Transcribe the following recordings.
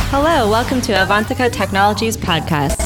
Hello, welcome to Avantika Technologies Podcast.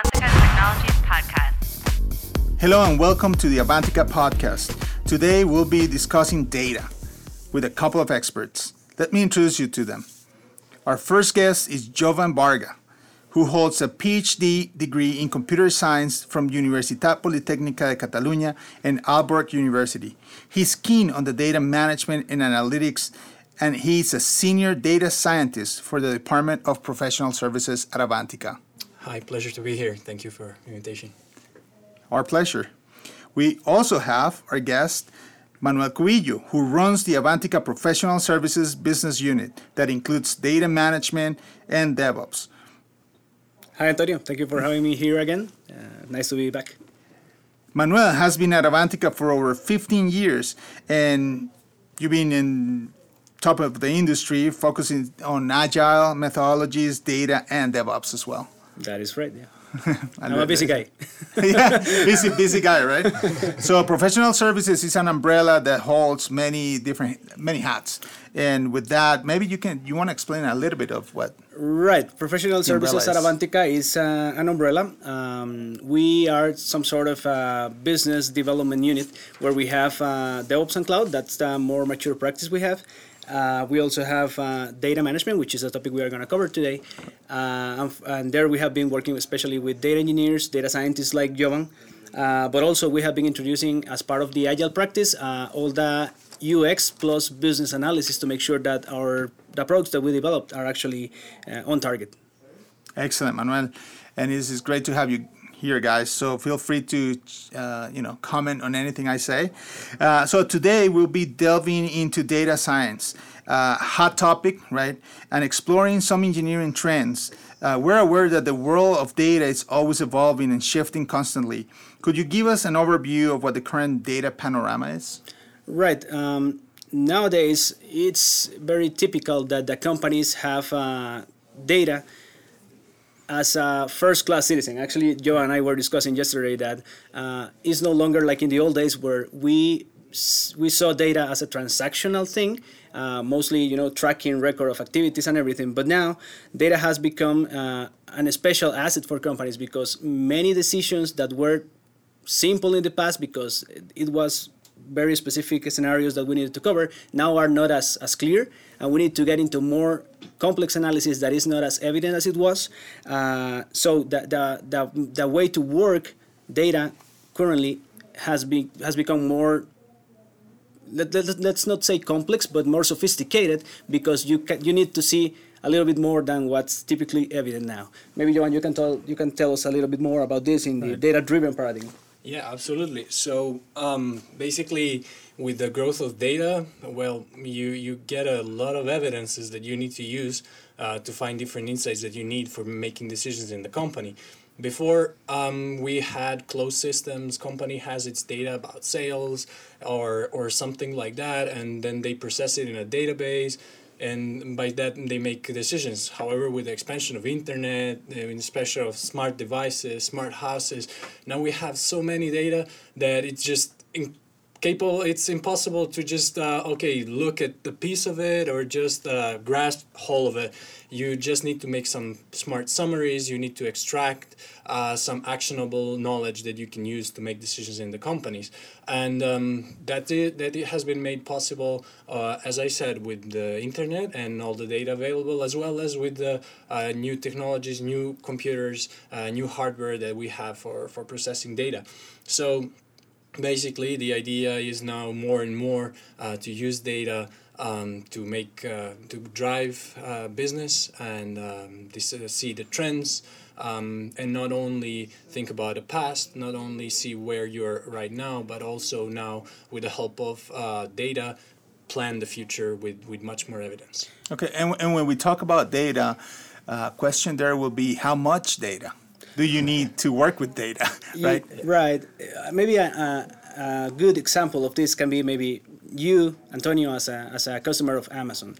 Hello and welcome to the Avantika Podcast. Today we'll be discussing data with a couple of experts. Let me introduce you to them. Our first guest is Jovan Varga, who holds a PhD degree in computer science from Universitat Politècnica de Catalunya and Aalborg University. He's keen on the data management and analytics, and he's a senior data scientist for the Department of Professional Services at Avantika. Hi, pleasure to be here. Thank you for the invitation. Our pleasure. We also have our guest, Manuel Cubillo, who runs the Avantika Professional Services business unit that includes data management and DevOps. Hi, Antonio. Thank you for having me here again. Nice to be back. Manuel has been at Avantika for over 15 years, and you've been in top of the industry, focusing on agile methodologies, data, and DevOps as well. That is right, yeah. I'm a busy guy. Yeah, busy guy, right? So professional services is an umbrella that holds many hats. And with that, maybe you want to explain a little bit of what. Right. Professional services at Avantika is an umbrella. We are some sort of business development unit where we have DevOps and cloud. That's the more mature practice we have. We also have data management, which is a topic we are going to cover today. And there we have been working especially with data engineers, data scientists like Jovan. But also we have been introducing, as part of the agile practice, all the UX plus business analysis to make sure that the products that we developed are actually on target. Excellent, Manuel. And this is great to have you here, guys. So feel free to comment on anything I say. So today we'll be delving into data science, hot topic, right? And exploring some engineering trends. We're aware that the world of data is always evolving and shifting constantly. Could you give us an overview of what the current data panorama is? Right. Nowadays, it's very typical that the companies have data as a first-class citizen. Actually, Joe and I were discussing yesterday that it's no longer like in the old days where we saw data as a transactional thing, mostly tracking record of activities and everything. But now data has become an special asset for companies because many decisions that were simple in the past because it was very specific scenarios that we needed to cover now are not as clear, and we need to get into more complex analysis that is not as evident as it was. So the way to work data currently has become more, let's not say complex, but more sophisticated because you need to see a little bit more than what's typically evident now. Maybe Johan, you can tell us a little bit more about this in the data-driven paradigm. Yeah, absolutely. So basically, with the growth of data, well, you get a lot of evidences that you need to use to find different insights that you need for making decisions in the company. Before, we had closed systems. Company has its data about sales or something like that, and then they process it in a database. And by that, they make decisions. However, with the expansion of internet, especially of smart devices, smart houses, now we have so many data that it's just it's impossible to just, look at the piece of it or just grasp whole of it. You just need to make some smart summaries. You need to extract some actionable knowledge that you can use to make decisions in the companies. And that has been made possible, as I said, with the internet and all the data available, as well as with the new technologies, new computers, new hardware that we have for processing data. So basically, the idea is now more and more to use data to drive business and see the trends, and not only think about the past, not only see where you're right now, but also now with the help of data, plan the future with much more evidence. Okay, and when we talk about data, question there will be how much data do you need to work with data, right? Right. Maybe a good example of this can be maybe you, Antonio, as a customer of Amazon.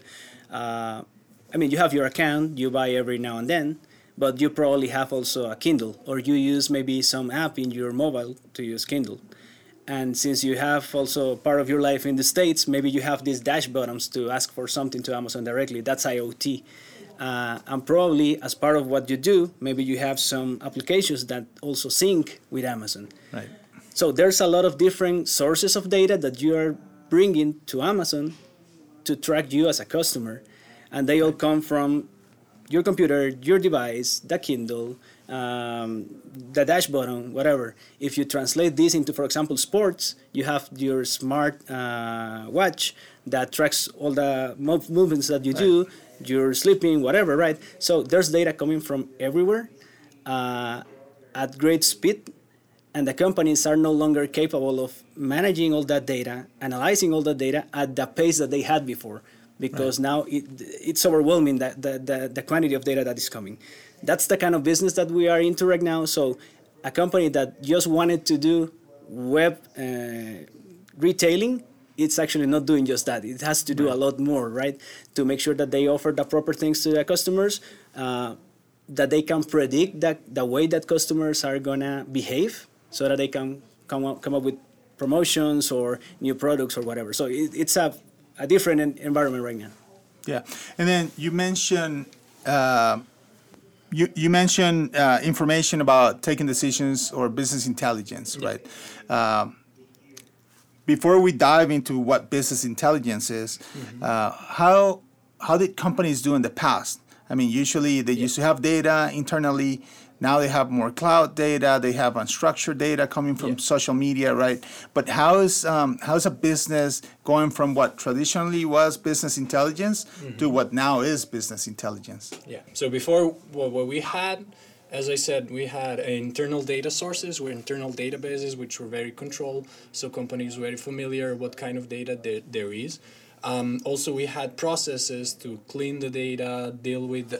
You have your account, you buy every now and then, but you probably have also a Kindle, or you use maybe some app in your mobile to use Kindle. And since you have also part of your life in the States, maybe you have these dash buttons to ask for something to Amazon directly. That's IoT. And probably as part of what you do, maybe you have some applications that also sync with Amazon. Right. So there's a lot of different sources of data that you are bringing to Amazon to track you as a customer. And they all come from your computer, your device, the Kindle, the dash button, whatever. If you translate this into, for example, sports, you have your smart watch that tracks all the movements that you do, you're sleeping, whatever, right? So there's data coming from everywhere at great speed, and the companies are no longer capable of managing all that data, analyzing all that data at the pace that they had before, because now it's overwhelming, the quantity of data that is coming. That's the kind of business that we are into right now. So a company that just wanted to do web retailing, it's actually not doing just that. It has to do a lot more, right? To make sure that they offer the proper things to their customers, that they can predict the way that customers are going to behave, so that they can come up with promotions or new products or whatever. So it's a different environment right now. Yeah. And then you mentioned you mentioned information about taking decisions or business intelligence, right? Before we dive into what business intelligence is, how did companies do in the past? I mean, usually they used to have data internally. Now they have more cloud data. They have unstructured data coming from social media, right? But how's a business going from what traditionally was business intelligence to what now is business intelligence? Yeah. So before, what we had, as I said, we had internal data sources, internal databases, which were very controlled, so companies were very familiar what kind of data there is. Also, we had processes to clean the data, deal with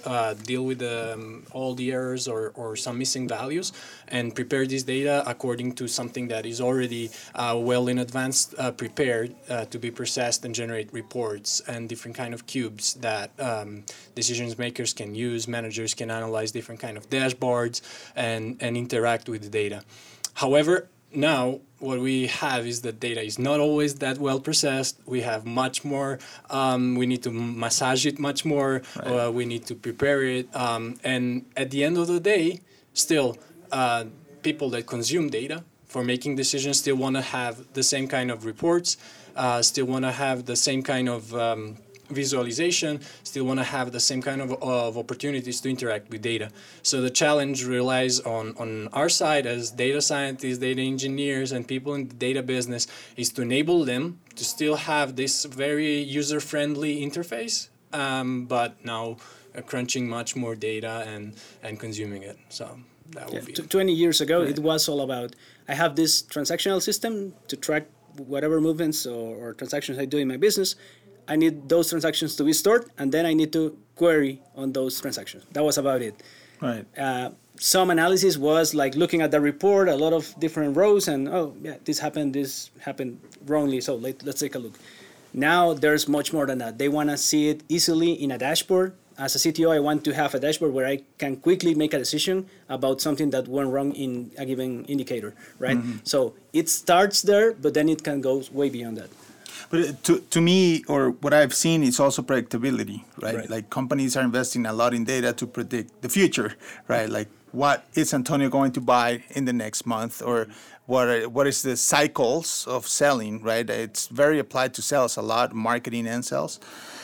all the errors or some missing values, and prepare this data according to something that is already well in advance prepared to be processed and generate reports and different kind of cubes that decision makers can use. Managers can analyze different kind of dashboards and interact with the data. However, now, what we have is that data is not always that well processed. We have much more. We need to massage it much more. We need to prepare it. And at the end of the day, still, people that consume data for making decisions still want to have the same kind of reports, still want to have the same kind of visualization, still want to have the same kind of opportunities to interact with data. So the challenge relies on our side as data scientists, data engineers, and people in the data business is to enable them to still have this very user-friendly interface, but now crunching much more data and consuming it. So that would be 20 years ago, it was all about, I have this transactional system to track whatever movements or transactions I do in my business. I need those transactions to be stored, and then I need to query on those transactions. That was about it. Right. Some analysis was like looking at the report, a lot of different rows, and this happened wrongly, so let's take a look. Now there's much more than that. They want to see it easily in a dashboard. As a CTO, I want to have a dashboard where I can quickly make a decision about something that went wrong in a given indicator, right? So it starts there, but then it can go way beyond that. But to me, or what I've seen, is also predictability, right? Like companies are investing a lot in data to predict the future, right? Like what is Antonio going to buy in the next month, or what is the cycles of selling, right? It's very applied to sales a lot, marketing and sales.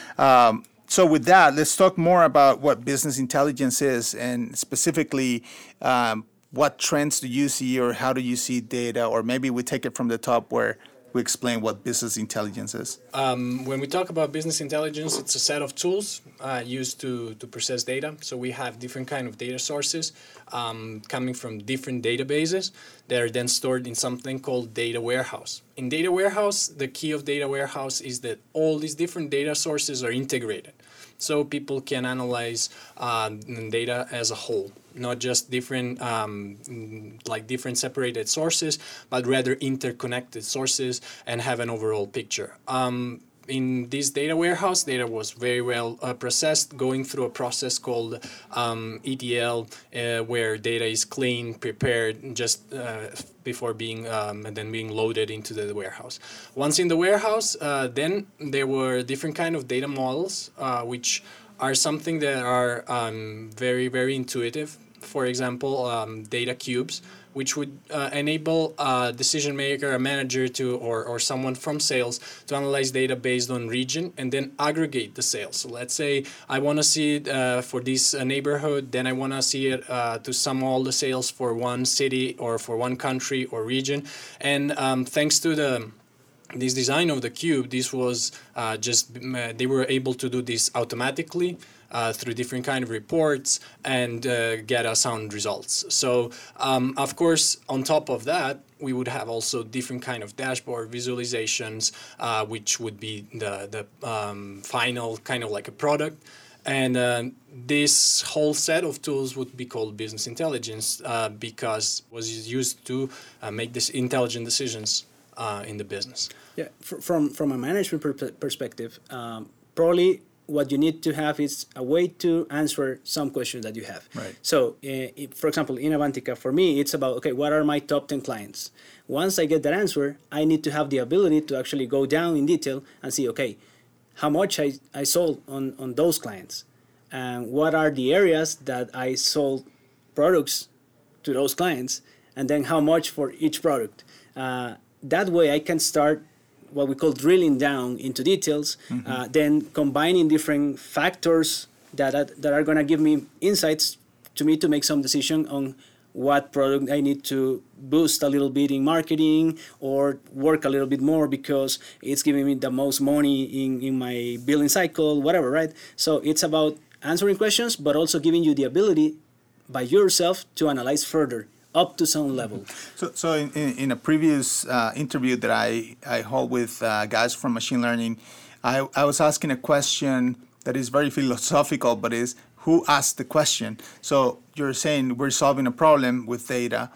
So with that, let's talk more about what business intelligence is, and specifically what trends do you see, or how do you see data, or maybe we take it from the top where we explain what business intelligence is. When we talk about business intelligence, it's a set of tools used to process data. So we have different kind of data sources coming from different databases that are then stored in something called data warehouse. In data warehouse, the key of data warehouse is that all these different data sources are integrated. So people can analyze data as a whole, not just different different separated sources, but rather interconnected sources and have an overall picture. In this data warehouse, data was very well processed, going through a process called ETL, where data is cleaned, prepared just before being and then being loaded into the warehouse. Once in the warehouse, then there were different kind of data models, which are something that are very, very intuitive. For example, data cubes, which would enable a decision maker, a manager or someone from sales to analyze data based on region and then aggregate the sales. So let's say I want to see it for this neighborhood, then I want to see it to sum all the sales for one city or for one country or region. And thanks to this design of the cube, this was they were able to do this automatically through different kind of reports and get us sound results. So of course, on top of that, we would have also different kind of dashboard visualizations, which would be the final kind of like a product. And this whole set of tools would be called business intelligence because it was used to make this intelligent decisions in the business. Yeah, from a management perspective, probably what you need to have is a way to answer some questions that you have. Right. So, for example, in Avantika, for me, it's about, okay, what are my top 10 clients? Once I get that answer, I need to have the ability to actually go down in detail and see, okay, how much I sold on those clients, and what are the areas that I sold products to those clients, and then how much for each product. That way I can start what we call drilling down into details, then combining different factors that are going to give me insights to me to make some decision on what product I need to boost a little bit in marketing or work a little bit more because it's giving me the most money in my billing cycle, whatever, right? So it's about answering questions, but also giving you the ability by yourself to analyze further up to some level. So in a previous interview that I hold with guys from machine learning, I was asking a question that is very philosophical, but is who asked the question? So you're saying we're solving a problem with data.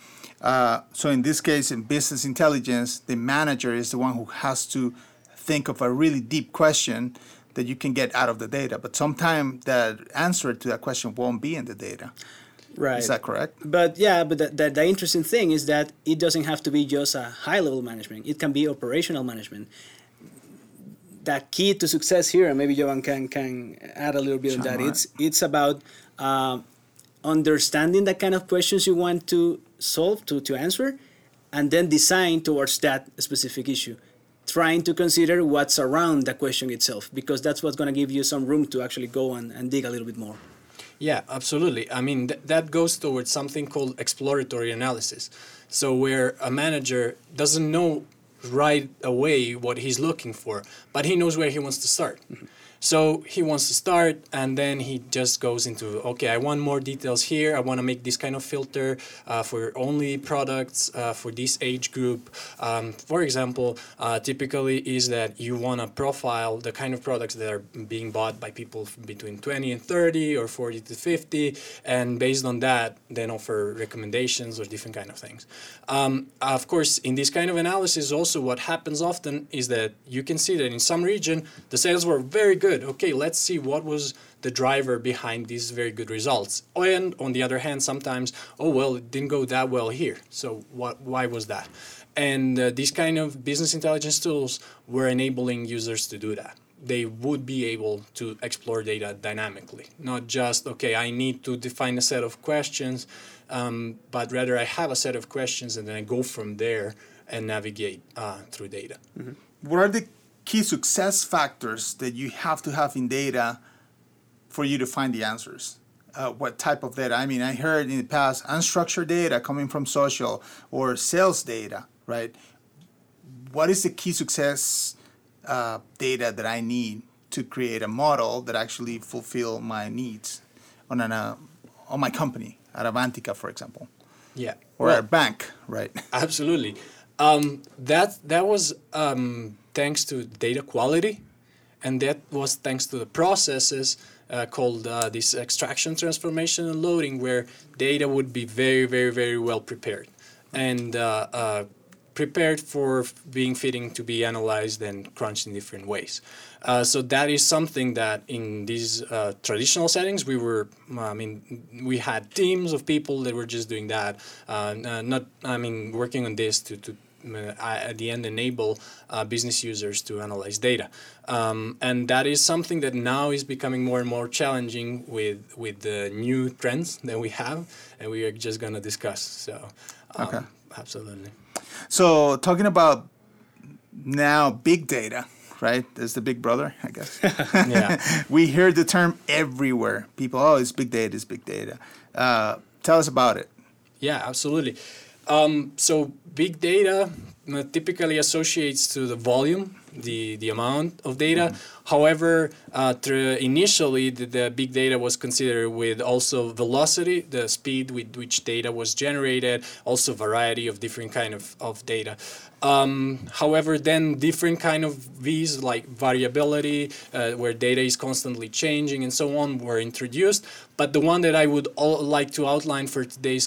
So in this case, in business intelligence, the manager is the one who has to think of a really deep question that you can get out of the data. But sometimes the answer to that question won't be in the data. Right. Is that correct? But yeah, but the interesting thing is that it doesn't have to be just a high-level management. It can be operational management. The key to success here, and maybe Jovan can add a little bit on that, it's about understanding the kind of questions you want to solve, to answer, and then design towards that specific issue. Trying to consider what's around the question itself, because that's what's going to give you some room to actually go and dig a little bit more. Yeah, absolutely. I mean, that goes towards something called exploratory analysis. So where a manager doesn't know right away what he's looking for, but he knows where he wants to start. Mm-hmm. So he wants to start, and then he just goes into, okay, I want more details here. I want to make this kind of filter for only products for this age group. For example, typically is that you want to profile the kind of products that are being bought by people between 20 and 30 or 40 to 50, and based on that, then offer recommendations or different kind of things. Of course, in this kind of analysis, also what happens often is that you can see that in some region, the sales were very good. Okay, let's see what was the driver behind these very good results. And on the other hand, sometimes, it didn't go that well here. So why was that? And these kind of business intelligence tools were enabling users to do that. They would be able to explore data dynamically, not just, okay, I need to define a set of questions, but rather I have a set of questions and then I go from there and navigate through data. Mm-hmm. What are the key success factors that you have to have in data for you to find the answers? What type of data? I mean, I heard in the past unstructured data coming from social or sales data, right? What is the key success data that I need to create a model that actually fulfill my needs on my company, at Avantika, for example? Yeah. Or at a bank, right? Absolutely. That was thanks to data quality, and that was thanks to the processes called this extraction, transformation, and loading, where data would be very, very, very well prepared and prepared for being fitting to be analyzed and crunched in different ways. So that is something that in these traditional settings we had teams of people that were just doing that, working on this to at the end enable business users to analyze data. And that is something that now is becoming more and more challenging with the new trends that we have, and we are just going to discuss. So, Okay. Absolutely. So talking about now big data, right? As the big brother, I guess. Yeah. We hear the term everywhere. People, oh, it's big data, it's big data. Tell us about it. Yeah, absolutely. So big data typically associates to the volume, the amount of data. However, initially the big data was considered with also velocity, the speed with which data was generated, also variety of different kind of data. However, then different kind of V's like variability, where data is constantly changing and so on, were introduced. But the one that I would like to outline for today's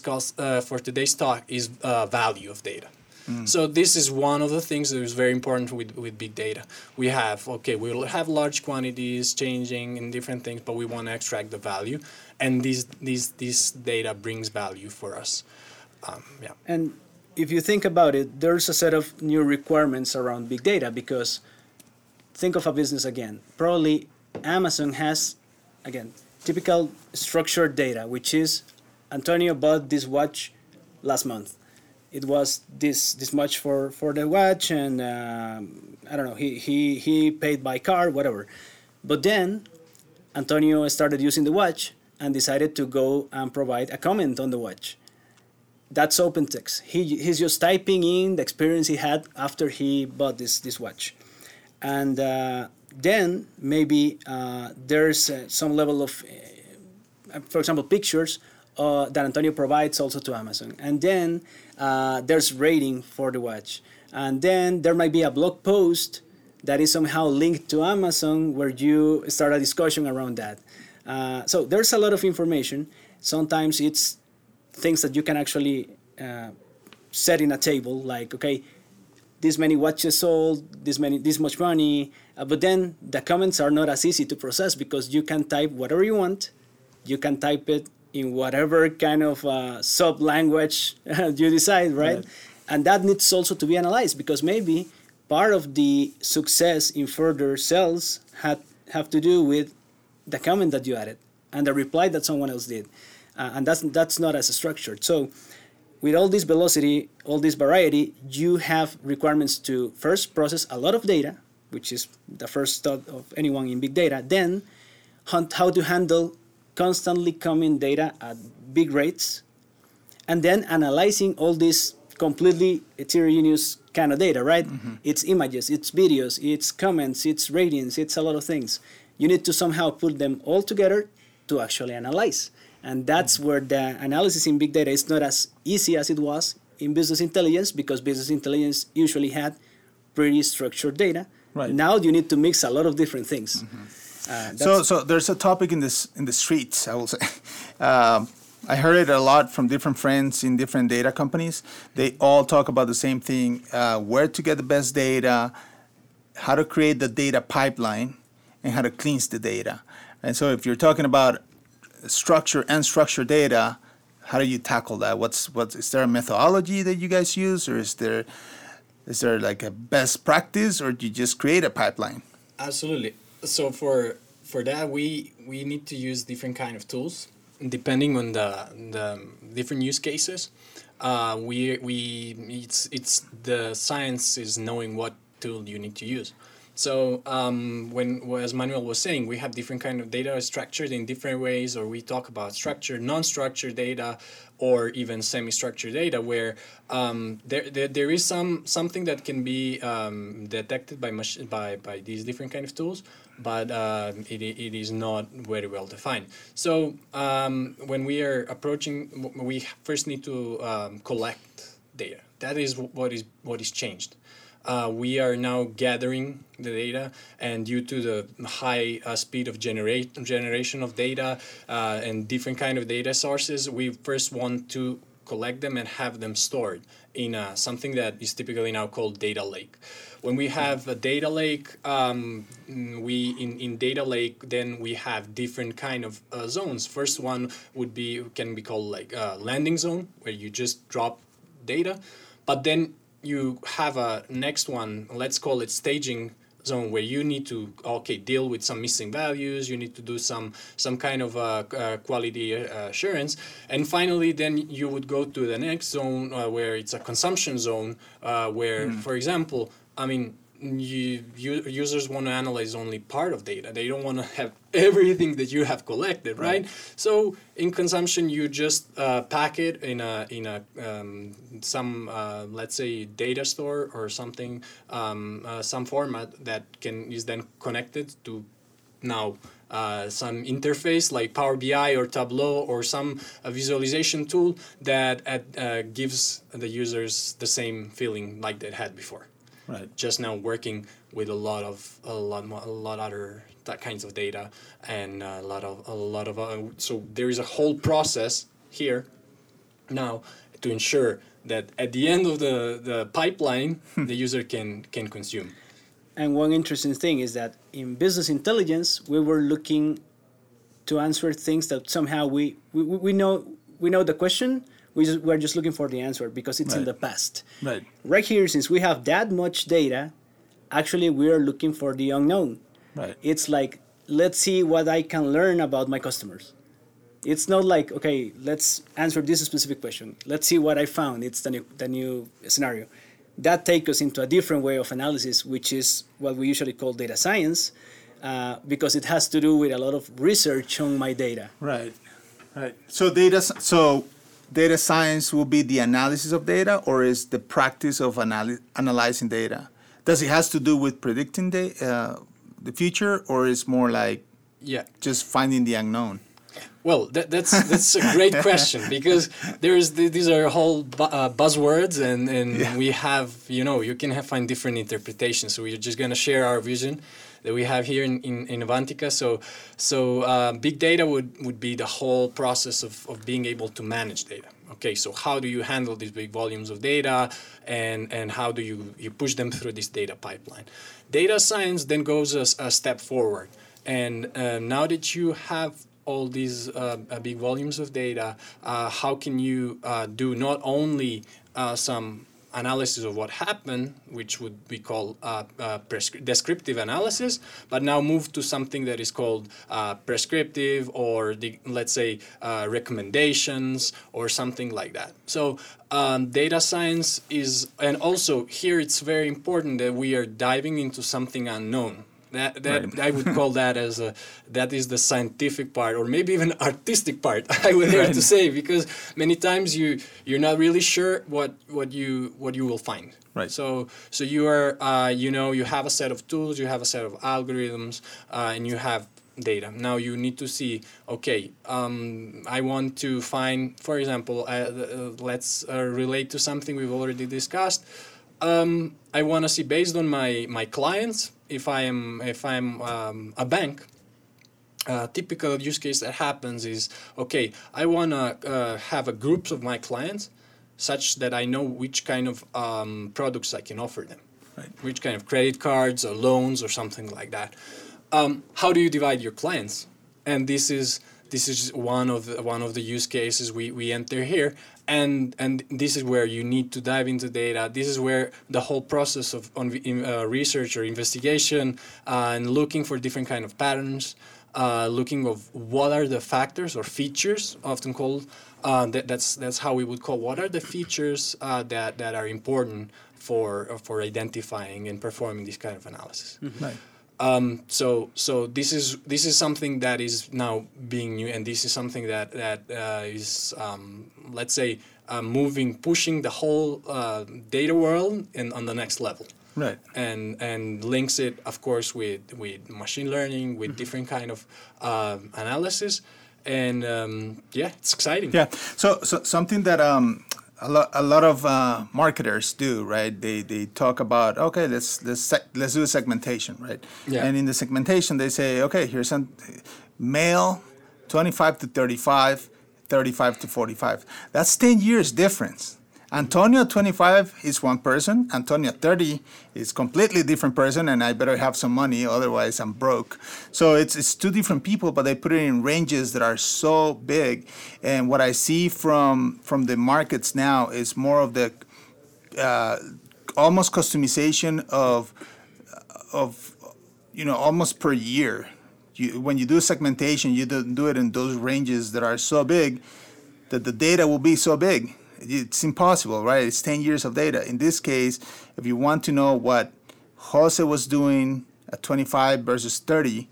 talk is value of data. So this is one of the things that is very important with big data. We will have large quantities changing in different things, but we want to extract the value, and this data brings value for us. Yeah. And if you think about it, there's a set of new requirements around big data, because think of a business again. Probably Amazon has, again, typical structured data, which is Antonio bought this watch last month. It was this much for the watch, and I don't know, he paid by card, whatever. But then Antonio started using the watch and decided to go and provide a comment on the watch. That's open text. He's just typing in the experience he had after he bought this watch. And then maybe there's some level of, for example, pictures that Antonio provides also to Amazon. And then there's rating for the watch. And then there might be a blog post that is somehow linked to Amazon where you start a discussion around that. So there's a lot of information. Sometimes it's things that you can actually set in a table, like, okay, this many watches sold, this much money. But then the comments are not as easy to process, because you can type whatever you want. You can type it in whatever kind of sub-language you decide, right? And that needs also to be analyzed, because maybe part of the success in further sales have to do with the comment that you added and the reply that someone else did. And that's not as structured. So with all this velocity, all this variety, you have requirements to first process a lot of data, which is the first thought of anyone in big data. Then how to handle constantly coming data at big rates, and then analyzing all this completely heterogeneous kind of data, right? It's images, it's videos, it's comments, it's ratings, it's a lot of things. You need to somehow put them all together to actually analyze. And that's where the analysis in big data is not as easy as it was in business intelligence, because business intelligence usually had pretty structured data. Right. Now you need to mix a lot of different things. So there's a topic in the streets, I will say. I heard it a lot from different friends in different data companies. They all talk about the same thing: where to get the best data, how to create the data pipeline, and how to cleanse the data. And so, if you're talking about structure and unstructured data, how do you tackle that? Is there a methodology that you guys use, or is there like a best practice, or do you just create a pipeline? Absolutely. So for that, we need to use different kind of tools depending on the different use cases. It's the science is knowing what tool you need to use. So as Manuel was saying, we have different kind of data structured in different ways, or we talk about structured, non-structured data, or even semi-structured data, where there is something that can be detected by these different kind of tools, but it is not very well defined. So when we are approaching, we first need to collect data. That is what is changed. We are now gathering the data, and due to the high speed of generation of data and different kind of data sources, we first want to collect them and have them stored in something that is typically now called data lake. When we have a data lake, in data lake, then we have different kind of zones. First one can be called like a landing zone, where you just drop data, but then you have a next one, let's call it staging zone, where you need to deal with some missing values, you need to do some kind of quality assurance, and finally then you would go to the next zone where it's a consumption zone, where for example, I mean, users want to analyze only part of data. They don't want to have everything that you have collected, right? So in consumption, you just pack it in a some let's say data store or something, some format that is then connected to now some interface like Power BI or Tableau or some visualization tool that gives the users the same feeling like they had before. Right. Just now working with a lot other kinds of data and a lot of so there is a whole process here now to ensure that at the end of the pipeline the user can consume. And one interesting thing is that in business intelligence we were looking to answer things that somehow we know the question. We're just looking for the answer because it's in the past. Right. Right here, since we have that much data, actually we are looking for the unknown. Right. It's like, let's see what I can learn about my customers. It's not like, okay, let's answer this specific question. Let's see what I found. It's the new scenario. That takes us into a different way of analysis, which is what we usually call data science, because it has to do with a lot of research on my data. Right. Right. So data science will be the analysis of data, or is the practice of analyzing data? Does it has to do with predicting the future, or is more like just finding the unknown? Well, that's a great question, because these are whole buzzwords, and we have, you can find different interpretations. So we're just going to share our vision that we have here in Avantika. So big data would be the whole process of being able to manage data. Okay, so how do you handle these big volumes of data, and how do you push them through this data pipeline? Data science then goes a step forward, and now that you have all these big volumes of data, how can you do not only some analysis of what happened, which would be called descriptive analysis, but now move to something that is called prescriptive, or let's say recommendations or something like that. So data science is, and also here it's very important that we are diving into something unknown. That I would call that that is the scientific part, or maybe even artistic part, I would dare to say, because many times you're not really sure what you will find. Right. So you are you have a set of tools, you have a set of algorithms, and you have data. Now you need to see, okay, I want to find, for example, let's relate to something we've already discussed. I want to see, based on my clients, if I'm a bank, typical use case that happens is, okay, I want to have a group of my clients such that I know which kind of products I can offer them, which kind of credit cards or loans or something like that. How do you divide your clients? And this is one of the use cases we enter here. And this is where you need to dive into data. This is where the whole process of research or investigation and looking for different kind of patterns, looking of what are the factors or features, often called, that's how we would call, what are the features that are important for identifying and performing this kind of analysis. Mm-hmm. Right. So this is something that is now being new, and this is something that is let's say pushing the whole data world on the next level. Right. And links it, of course, with machine learning, with different kind of analysis, and it's exciting. Yeah. So something that a lot of marketers do, right? They talk about, okay, let's do a segmentation, right? Yeah. And in the segmentation, they say, okay, here's some male, 25 to 35, 35 to 45. That's 10 years difference. Antonio 25 is one person. Antonio 30 is completely different person, and I better have some money, otherwise I'm broke. So it's two different people, but they put it in ranges that are so big. And what I see from the markets now is more of the almost customization of almost per year. When you do segmentation, you don't do it in those ranges that are so big that the data will be so big. It's impossible, right? It's 10 years of data. In this case, if you want to know what Jose was doing at 25 versus 30,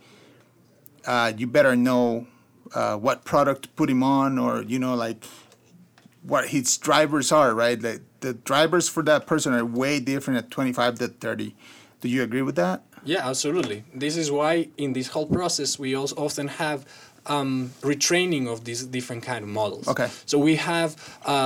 you better know what product to put him on, or like what his drivers are, right? The drivers for that person are way different at 25 than 30. Do you agree with that? Yeah, absolutely. This is why in this whole process we also often have retraining of these different kind of models. Okay. So we have,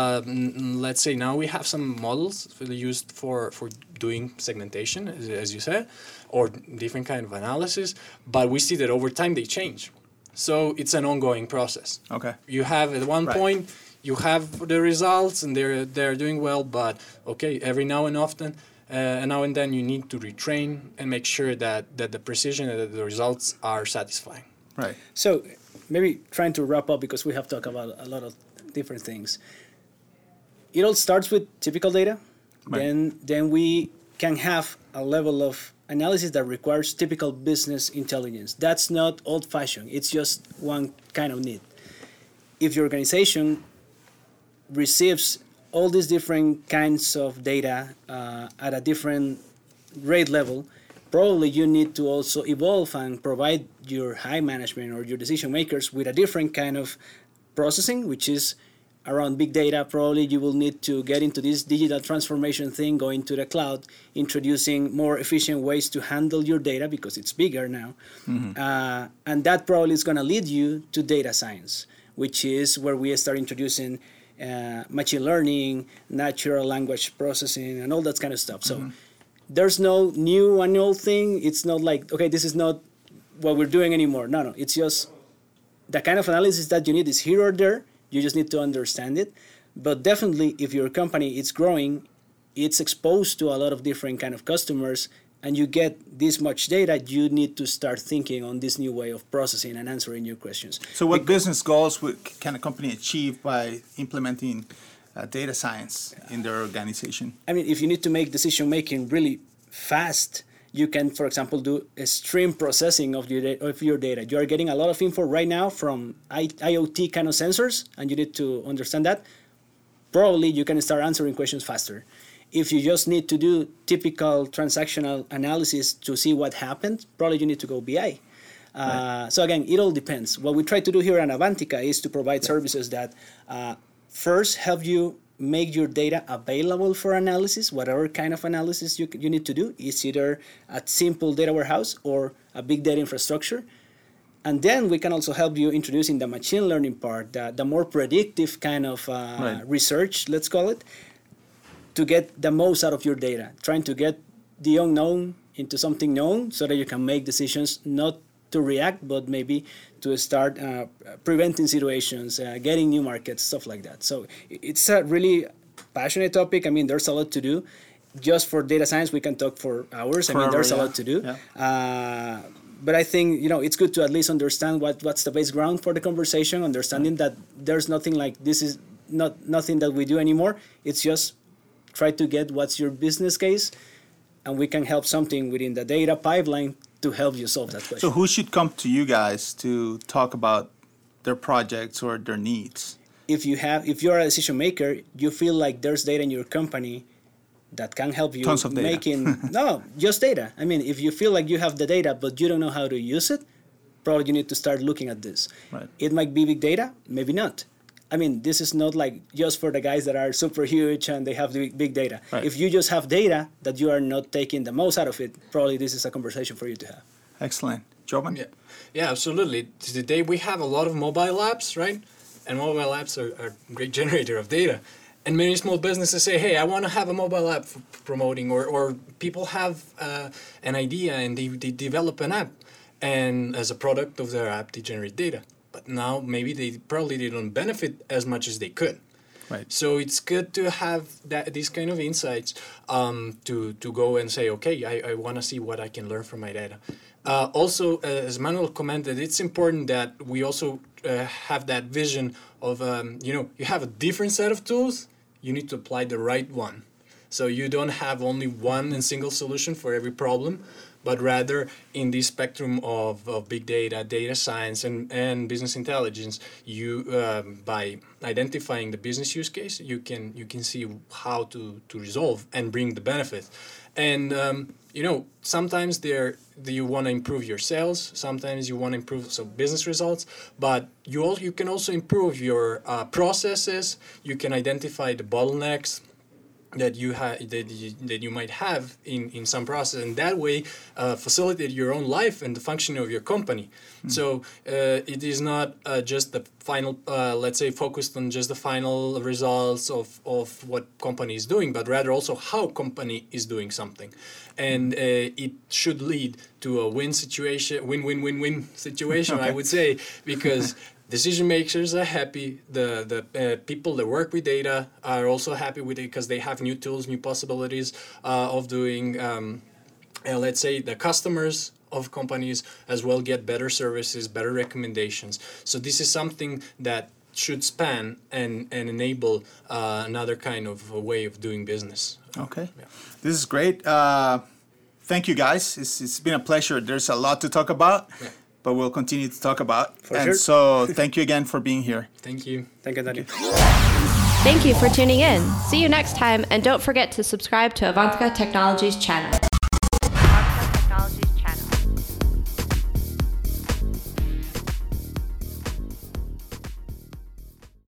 let's say now we have some models used for doing segmentation, as you said, or different kind of analysis, but we see that over time they change. So it's an ongoing process. Okay. You have at one point, you have the results and they're doing well, but okay, every now and often, and now and then you need to retrain and make sure that the precision and that the results are satisfying. Right. So maybe trying to wrap up, because we have talked about a lot of different things. It all starts with typical data. Right. Then we can have a level of analysis that requires typical business intelligence. That's not old-fashioned. It's just one kind of need. If your organization receives all these different kinds of data at a different rate level, probably you need to also evolve and provide your high management or your decision makers with a different kind of processing, which is around big data. Probably you will need to get into this digital transformation thing, going to the cloud, introducing more efficient ways to handle your data because it's bigger now. Mm-hmm. And that probably is going to lead you to data science, which is where we start introducing machine learning, natural language processing, and all that kind of stuff. So there's no new and old thing. It's not like, okay, this is not what we're doing anymore. No, it's just the kind of analysis that you need is here or there. You just need to understand it. But definitely, if your company is growing, it's exposed to a lot of different kind of customers, and you get this much data, you need to start thinking on this new way of processing and answering your questions. So what business goals can a company achieve by implementing data science in their organization? I mean, if you need to make decision-making really fast, you can, for example, do a stream processing of your data. You are getting a lot of info right now from IoT kind of sensors, and you need to understand that. Probably you can start answering questions faster. If you just need to do typical transactional analysis to see what happened, probably you need to go BI. Right. So again, it all depends. What we try to do here at Avantika is to provide services that first help you make your data available for analysis, whatever kind of analysis you need to do. It's either a simple data warehouse or a big data infrastructure. And then we can also help you introducing the machine learning part, the more predictive kind of research, let's call it, to get the most out of your data, trying to get the unknown into something known so that you can make decisions, not to react, but maybe to start preventing situations, getting new markets, stuff like that. So it's a really passionate topic. I mean, there's a lot to do. Just for data science, we can talk for hours. There's a lot to do. Yeah. But I think, it's good to at least understand what's the base ground for the conversation, understanding that there's nothing like this is nothing that we do anymore. It's just try to get what's your business case, and we can help something within the data pipeline to help you solve that question. So who should come to you guys to talk about their projects or their needs? If you're a decision maker, you feel like there's data in your company that can help you Tons of data. No, just data. I mean, if you feel like you have the data but you don't know how to use it, probably you need to start looking at this. Right. It might be big data, maybe not. I mean, this is not like just for the guys that are super huge and they have the big data. Right. If you just have data that you are not taking the most out of it, probably this is a conversation for you to have. Excellent. Jovan? Yeah, absolutely. Today we have a lot of mobile apps, right? And mobile apps are a great generator of data. And many small businesses say, hey, I want to have a mobile app for promoting, or people have an idea and they develop an app. And as a product of their app, they generate data. But now maybe they don't benefit as much as they could. Right. So it's good to have these kind of insights to go and say, okay, I want to see what I can learn from my data. Also, as Manuel commented, it's important that we also have that vision of, you have a different set of tools, you need to apply the right one. So you don't have only one and single solution for every problem, but rather in this spectrum of big data, data science, and business intelligence, you by identifying the business use case, you can see how to resolve and bring the benefit. And sometimes you want to improve your sales, sometimes you want to improve some business results, but you can also improve your processes. You can identify the bottlenecks that you might have in some process, and that way facilitate your own life and the functioning of your company. So it is not just the final, let's say, focused on just the final results of what company is doing, but rather also how company is doing something. And it should lead to a win-win situation, okay. I would say, because decision makers are happy. The people that work with data are also happy with it because they have new tools, new possibilities of doing. Let's say the customers of companies as well get better services, better recommendations. So this is something that should span and enable another kind of a way of doing business. Okay, This is great. Thank you, guys. It's been a pleasure. There's a lot to talk about. Yeah. But we'll continue to talk about. So thank you again for being here. Thank you. Thank you, Daniel. Thank you for tuning in. See you next time, and don't forget to subscribe to Avantika Technologies channel.